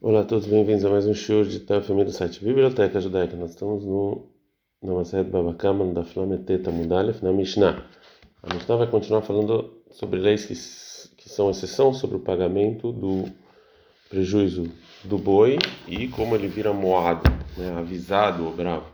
Olá a todos, bem-vindos a mais um show de Tafami do site Biblioteca Judaica. Nós estamos no Maseret Baba Kama, da Flameteta Mudalef, na Mishnah. A Mishnah vai continuar falando sobre leis que são exceção sobre o pagamento do prejuízo do boi e como ele vira moado, né, avisado ou bravo.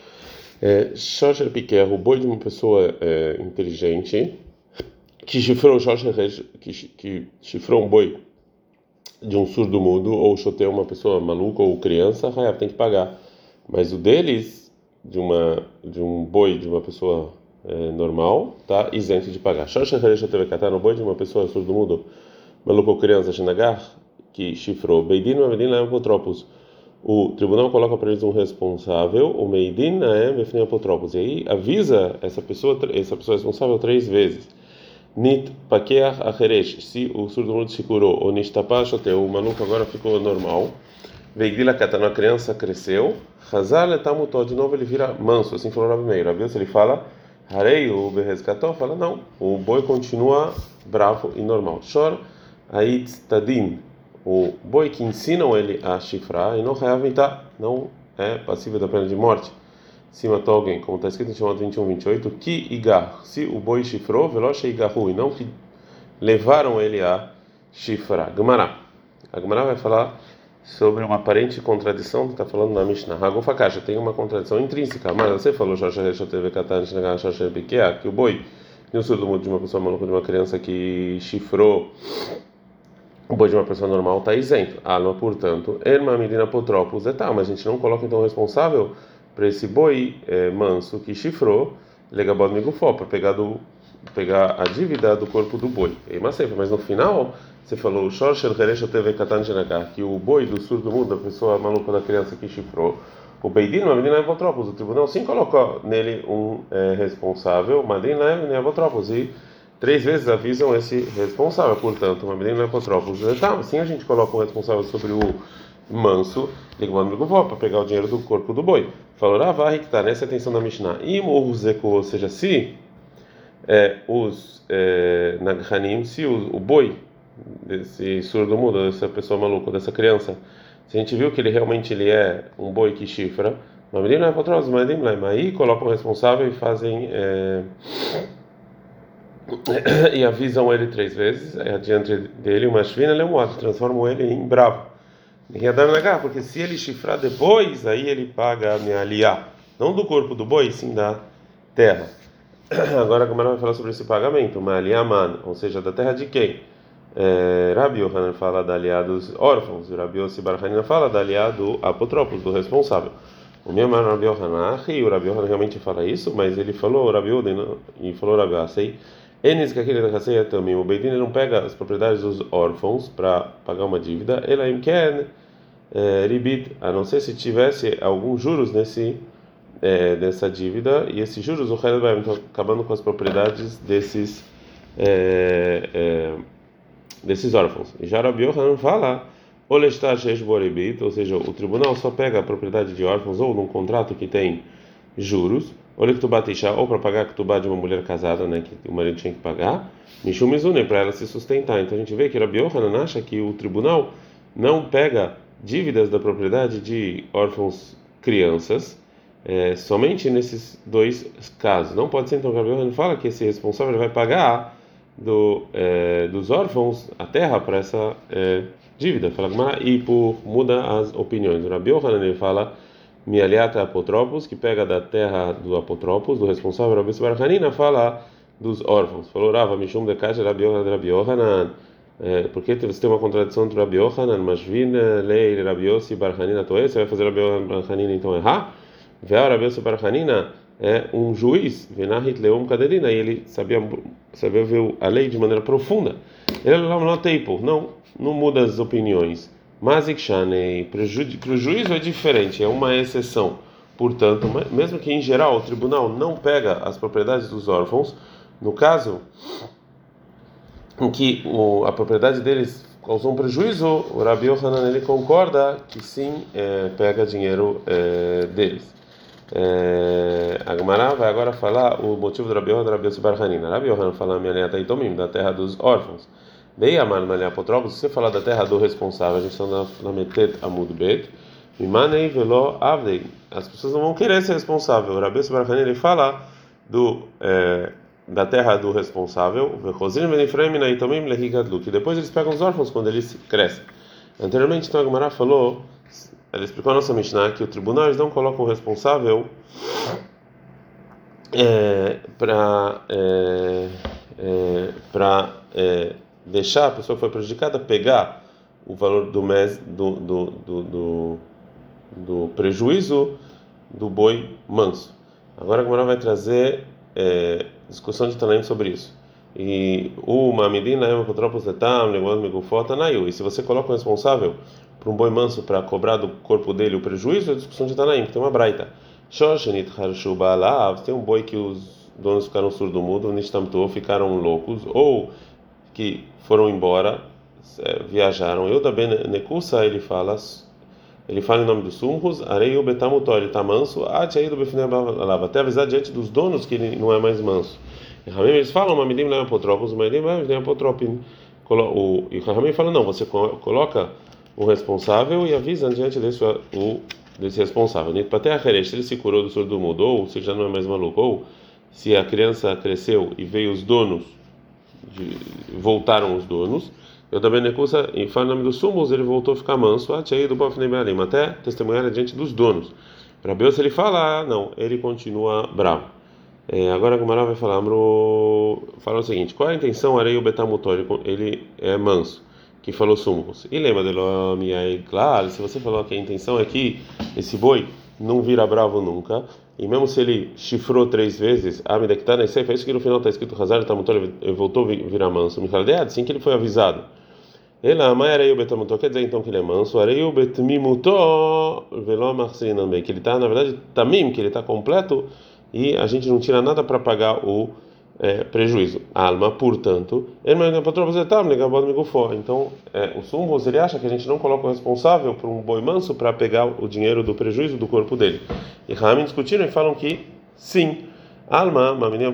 Shosher Piquer, o boi de uma pessoa inteligente, que chifrou, que chifrou um boi de um surdo mudo ou choteou uma pessoa maluca ou criança, Hayab tem que pagar. Mas o deles, de um boi de uma pessoa normal, tá isento de pagar. No boi de uma pessoa surdo mudo, maluco ou criança, Shinagar, que chifrou, Beidin, Beidin, Laem, Apotropos. O tribunal coloca para eles um responsável, o Meidin, Naem, Befnim, Apotropos. E aí avisa essa pessoa responsável 3 vezes. Nit pakeach acheresh, se o surdo-mudo se curou, ou nishtapashoteu, o maluco agora ficou normal. Veigdila katana, a criança cresceu. Hazar letamutó, de novo ele vira manso, assim falou Rabi Meir. Rabi Yossi, ele fala, harei o berrezkató, fala não, o boi continua bravo e normal. Shor ait tadin, o boi que ensinam ele a chifrar, e não reaventar, não é passível da pena de morte. Se matou alguém, como está escrito em Shemot 21:28, que igar, se o boi chifrou, veloche igarru, e não que levaram ele a chifrar. Gemara. A Gemara vai falar sobre uma aparente contradição que está falando na Mishnah. Ragofa Kasha tem uma contradição intrínseca. Mas você falou que o boi, no surdo mudo de uma pessoa maluca, de uma criança que chifrou o boi de uma pessoa normal está isento. Alma, portanto, Erma Medina Potropos, mas a gente não coloca então o responsável para esse boi manso que chifrou, legabod migufó, para pegar a dívida do corpo do boi. Mas no final, você falou, que o boi do surdo mudo, da pessoa maluca da criança que chifrou, o Beidin, a menina Evotropos, o tribunal sim colocou nele um responsável, Madin Lev, Evotropos, e 3 vezes avisam esse responsável. Portanto, uma menina Evotropos, sim a gente coloca o responsável sobre o manso, para pegar o dinheiro do corpo do boi. Falou, Ravahi, que está nessa atenção da Mishnah. E ou seja, se Naghanim, se o boi desse surdo mudo, dessa pessoa maluca, dessa criança, se a gente viu que ele é um boi que chifra, uma menina Evotropos, aí colocam o responsável e fazem. E avisam ele 3 vezes, adiante dele, uma shvina lemuado, transformam ele em bravo. Ninguém dá negar, porque se ele chifrar depois, aí ele paga a minha aliá, não do corpo do boi, sim da terra. Agora a Gemara vai falar sobre esse pagamento, uma aliá man, ou seja, da terra de quem? Rabi Yohanan fala da aliá dos órfãos, e Rabi Yossi Bar Hanina fala da aliá do apotropos, do responsável. O meu irmão Rabi Yohanan, o Rabi Yohanan realmente fala isso, mas ele falou Rabi Yohanan e falou Rabi Yohanan. Enes que aquele da caceia também, o Beidin não pega as propriedades dos órfãos para pagar uma dívida, ela quer ribit, a não ser se tivesse alguns juros dessa dívida, e esses juros o Khaled vai acabando com as propriedades desses órfãos. E já Rabi Yohanan fala, ou seja, o tribunal só pega a propriedade de órfãos ou num contrato que tem juros, ou para pagar a ketubá de uma mulher casada, né, que o marido tinha que pagar, Mishum Mizune, para ela se sustentar. Então a gente vê que Rabi Yohanan acha que o tribunal não pega dívidas da propriedade de órfãos crianças, somente nesses 2 casos. Não pode ser, então, Rabi Yohanan fala que esse responsável vai pagar dos órfãos a terra para essa dívida. Fala, e muda as opiniões. O Rabi Yohanan ele fala Mialiata apotropos, que pega da terra do apotropos, do responsável, Rabi Bar Hanina fala dos órfãos. Falou, Rava, Mishum de Kasha, Rabi Yohanan. Porque você tem uma contradição entre Rabi Yohanan, Mashvin, Lei, Rabi Yossi, Bar Hanina, Toé, você vai fazer Rabi Yohanan, Bar Hanina, então errar? Veio Rabi Yossi, Bar Hanina é um juiz, Venahit Leum Kaderina, e ele sabia ver a lei de maneira profunda. Ele não muda as opiniões. Mas para o juízo é diferente, é uma exceção. Portanto, mesmo que em geral o tribunal não pega as propriedades dos órfãos, no caso em que a propriedade deles causou um prejuízo, o Rabi Yohanan ele concorda que sim, pega dinheiro deles. A Gemara vai agora falar o motivo do Rabi Yohanan, Rabi Yossi Bar Hanina. Rabi Yohanan fala minha neta Itomim, da terra dos órfãos. Dei a mano ali apotropos, se você falar da terra do responsável, a gente está na Metet Amud Bet, Mimanei velo avdei. As pessoas não vão querer ser responsável. O Rabi Baracani ele fala da terra do responsável, que depois eles pegam os órfãos quando eles crescem. Anteriormente, então a Gemara falou, ela explicou a nossa Mishnah que o tribunal eles não colocam o responsável para deixar a pessoa que foi prejudicada pegar o valor do mês do prejuízo do boi manso. Agora a Gemara vai trazer discussão de Tanaim sobre isso. E o Mamidina é um apotropos letam, negócio megufota naiu. E se você coloca o responsável para um boi manso para cobrar do corpo dele o prejuízo, é discussão de Tanaim, que tem uma braita. Shoshenit harshu ba'alav, tem um boi que os donos ficaram surdo-mudo, nishtamtu, ficaram loucos, ou que foram embora, viajaram. Eu também nekusa ele fala em nome dos sumros, areio betamutor, ele está manso, até avisar diante dos donos que ele não é mais manso. E Ramim eles falam, mamidim não é apotropos, mamidim não é apotropin. E Ramim fala, não, você coloca o responsável e avisa diante desse responsável. Se ele se curou do surdo mudo, ou se já não é mais maluco, ou se a criança cresceu e veio os donos, voltaram os donos. Eu também necusa e fala em nome dos sumos, ele voltou a ficar manso, até testemunhar diante dos donos. Para Deus ele fala, não, ele continua bravo. Agora a Gumara vai falar o seguinte: qual é a intenção areio betamutor? Ele é manso, que falou sumos. E lembra dele, claro, se você falou que a intenção é que esse boi não vira bravo nunca, e mesmo se ele chifrou 3 vezes, que está na Sefer, isso que no final está escrito Hazar betamutor, ele voltou a virar manso. Assim que ele foi avisado. Ele ama areio betamutor, quer dizer então que ele é manso, areio betmimutor, velo marcinambe, que ele está na verdade tamim, que ele está completo. E a gente não tira nada para pagar o prejuízo. Alma, portanto, então, o Sumros ele acha que a gente não coloca o responsável por um boi manso para pegar o dinheiro do prejuízo do corpo dele. E Ramin discutiram e falam que sim. Alma, uma menina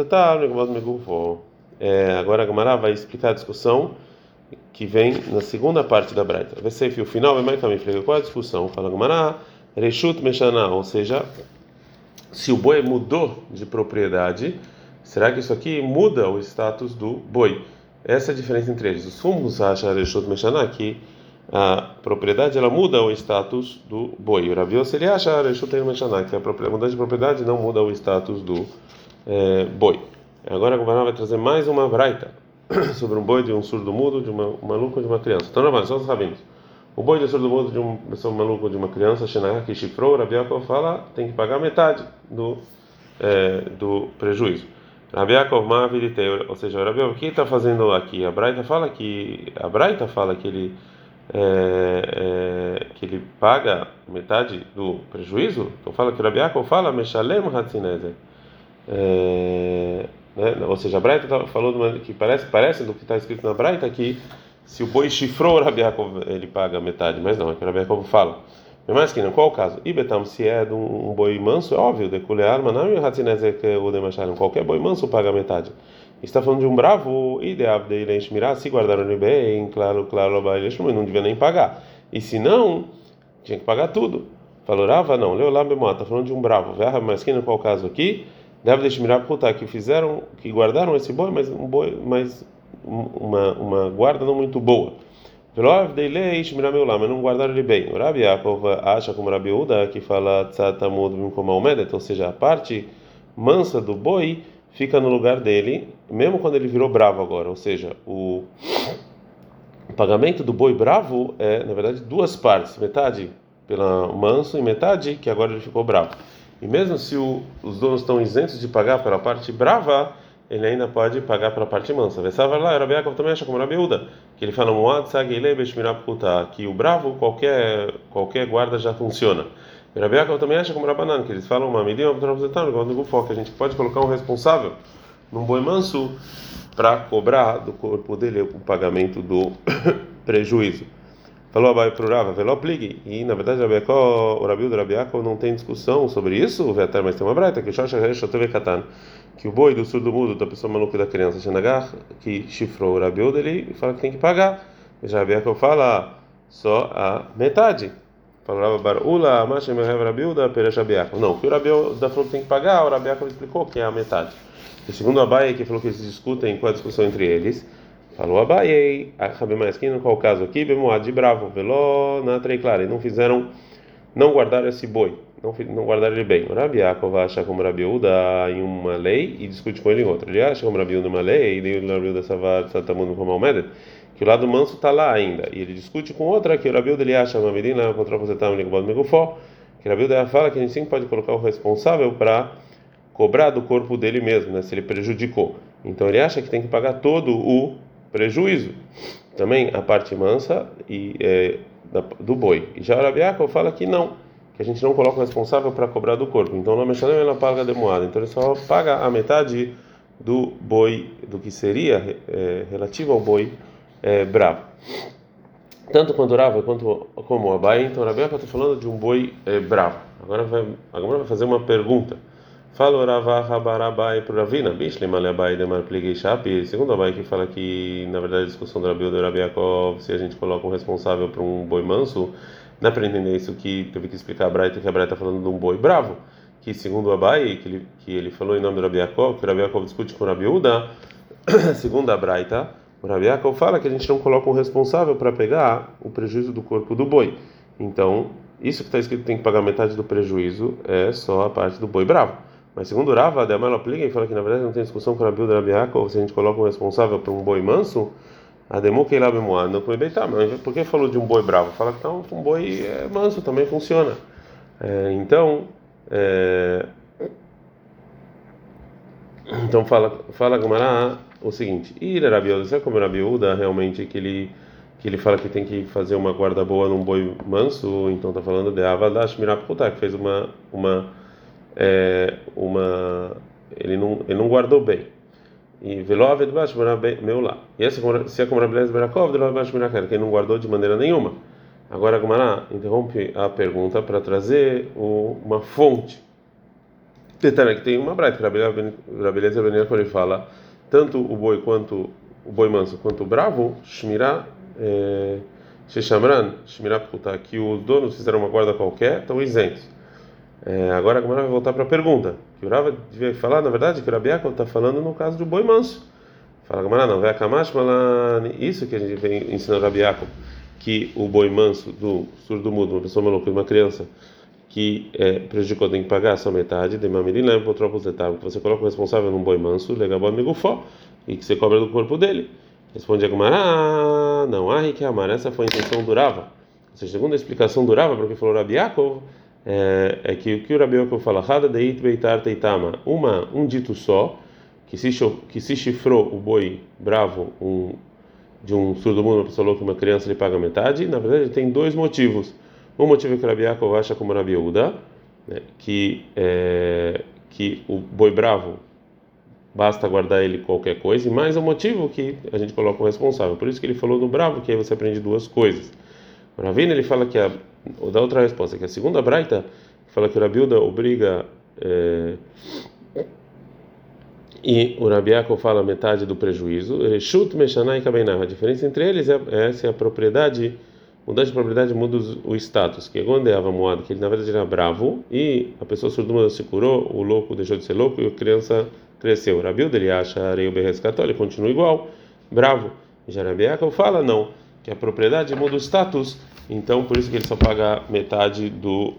agora a Gemara vai explicar a discussão que vem na segunda parte da Braita. Vai ser o final, é mais também. Qual é a discussão? Fala a Gemara, Reshut Meshana, ou seja, se o boi mudou de propriedade, será que isso aqui muda o status do boi? Essa é a diferença entre eles. Os fumos acham que a propriedade ela muda o status do boi. O Rav Yossi ele acha que a mudança de propriedade não muda o status do boi. Agora a Gemara vai trazer mais uma braita sobre um boi de um surdo-mudo, de um maluco ou de uma criança. Então, não, só sabemos. O boi de surdo-mudo de uma pessoa maluca ou de uma criança, que chifrou, Rabi Yaakov fala, tem que pagar metade do prejuízo. Rabi Yaakov Ma'aviditei, ou seja, o Rabi Yaakov, o que está fazendo aqui? A Braita fala que ele paga metade do prejuízo. Então fala que o Rabi Yaakov fala Meshalem Hatzinezer. Ou seja, a Braita falou que parece do que está escrito na Braita que se o boi chifrou, o Rabi Yaakov ele paga metade, mas não, é que o Rabi Yaakov fala. Mas que não, qual o caso? Ibetam, se é de um boi manso, é óbvio, deculear, mas não é o demacharem, qualquer boi manso paga metade. Está falando de um bravo, ideal dele enxmirar, se guardaram ele bem, claro, não devia nem pagar. E se não, tinha que pagar tudo. Falou, Rava, não, leu lá, está falando de um bravo, mas que não, qual o caso aqui? Deve deixar que guardaram esse boi, mas uma guarda não muito boa. Mas não guardaram ele bem. O Rabi Yaakov acha como Rabi Uda que fala ou seja, a parte mansa do boi fica no lugar dele, mesmo quando ele virou bravo agora. Ou seja, o pagamento do boi bravo é, na verdade, 2 partes: metade pelo manso e metade que agora ele ficou bravo. E mesmo se os donos estão isentos de pagar pela parte brava, ele ainda pode pagar pela parte mansa. Vessava lá, Rabi Yaakov também acha como Rabi Uda, que ele fala que o bravo, qualquer guarda já funciona. E Rabi Yaakov também acha como Rabanan, que eles falam uma medida, que a gente pode colocar um responsável num boi manso para cobrar do corpo dele o pagamento do prejuízo. Falou Abai pro Rava, veló pligue. E na verdade o Rabi Uda, Rabi Yaakov não tem discussão sobre isso, mas tem uma braita que que o boi do surdo-mudo, da pessoa maluca e da criança, Xanagar, que chifrou o Rabi Yehuda, ele fala que tem que pagar. Já Rabi Yaakov fala só a metade. Falava Barula, Mashem Rabi Yehuda, Peresh Rabi Yaakov. Não, o que o Rabi Yehuda falou que tem que pagar, o Rabi Yaakov explicou que é a metade. E segundo Abaye, que falou que eles discutem qual é a discussão entre eles, falou Abaye, Rabi Maeskin, qual o caso aqui, Bemoad de Bravo, Veló, na Trei Clara, e não guardaram esse boi, não guardaram ele bem. O Rabi Yaakov acha como Rabi Yehuda em uma lei e discute com ele em outra. Ele acha como Rabi Yehuda em uma lei, e o Rabi Yehuda Savar Satamundo como Almeida, que o lado manso está lá ainda. E ele discute com outra, que o Rabi Yehuda ele acha uma medida contra o Zetam Ligobod Megufó, que o Rabi Yehuda fala que a gente sim pode colocar o responsável para cobrar do corpo dele mesmo, né, se ele prejudicou. Então ele acha que tem que pagar todo o prejuízo, também a parte mansa do boi. E já o Rabi Yaakov fala que não, que a gente não coloca o responsável para cobrar do corpo. Então não mexe na paga demoada. Então ele só paga a metade do boi, do que seria relativo ao boi bravo. Tanto quanto o Rava quanto como o Abai, então o Rabi Yaakov está falando de um boi bravo. Agora vai fazer uma pergunta. Fala o Rava Rabarabai para o Ravina, Bishle Malebai Demar Pligei Shapi. Segundo o Abai, que fala que na verdade a discussão do Rabi Yehuda e do Rabi Yaakov, se a gente coloca um responsável para um boi manso, dá para entender isso que teve que explicar a Braita, que a Braita está falando de um boi bravo, que segundo o Abai, que ele falou em nome do Rabi Yaakov, que o Rabi Yaakov discute com o Rabi Yehuda, segundo a Braita, o Rabi Yaakov fala que a gente não coloca um responsável para pegar o prejuízo do corpo do boi. Então, isso que está escrito tem que pagar metade do prejuízo é só a parte do boi bravo. Mas segundo o Rava, a Amalo aplica e fala que na verdade não tem discussão com o Rabi Yehuda e o Rabi Yaakov, se a gente coloca um responsável para um boi manso, a Demo que lá bemoado não foi tá, mas por que falou de um boi bravo? Fala que um boi manso também funciona. Então, fala Gumará o seguinte: Ira Rabi Yehuda, sabe como o Rabi Yehuda realmente que ele fala que tem que fazer uma guarda boa num boi manso? Então está falando de Avadash Miraputá, que fez ele não guardou bem. E velove de baixo meu lá. E essa se é como Rabi Eliezer Berakov, velove baixo miraquer, que ele não guardou de maneira nenhuma. Agora a Gumará interrompe a pergunta para trazer uma fonte. Detalhe que tem uma braita que Rabi Eliezer Berakov ele fala tanto o boi manso quanto o bravo, shmirá sheshamran, shmirá puta, que os donos fizeram uma guarda qualquer, estão isentos. Agora a Gemara vai voltar para a pergunta. Que o Rava devia falar, na verdade, que o Rabi Yaakov está falando no caso do boi manso. Fala a Gemara, não, vai Kamash, isso que a gente vem ensinando o Rabi Yaakov, que o boi manso do surdo-mudo, uma pessoa maluca, uma criança que prejudicou, tem que pagar a sua metade, de mamirim leva para o tropos que você coloca o responsável num boi manso, legabó megufó, e que você cobra do corpo dele. Responde a Gemara, não, que amar, essa foi a intenção do Rava. Ou seja, segundo a explicação do Rava, porque falou Rabi Yaakov, que o que o Rabi Yaakov fala, deit beitar teitama, um dito só, que se chifrou o boi bravo de um surdo-mudo, uma pessoa louca, uma criança, ele paga metade. Na verdade, tem dois motivos. Um motivo é que o Rabi Yaakov acha como Rabi Yehuda, né, que o boi bravo basta guardar ele qualquer coisa, e mais um motivo que a gente coloca o responsável. Por isso que ele falou no bravo, que aí você aprende duas coisas. O Ravina ele fala que dá outra resposta, que a segunda braita fala que o Rabi Yehuda obriga e o Rabi Yaakov fala metade do prejuízo. Reshut meshanah e kabenah. A diferença entre eles é se a propriedade mudança de propriedade muda o status, que é quando é moado, que ele na verdade era bravo e a pessoa surdo se curou, o louco deixou de ser louco e a criança cresceu. O Rabi Yehuda ele acha areia berrescató, ele continua igual, bravo. Já Rabi Yaakov fala não, que a propriedade muda o status, então por isso que ele só paga metade do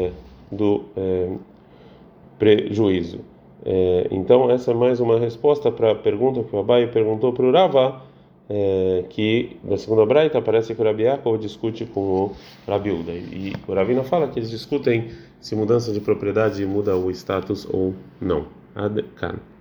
prejuízo. Então essa é mais uma resposta para a pergunta que o Abai perguntou para o Rava, que na segunda braita parece que o Rabi Yaakov discute com o Rabi Yehuda, e o Ravina fala que eles discutem se mudança de propriedade muda o status ou não. Ad kan.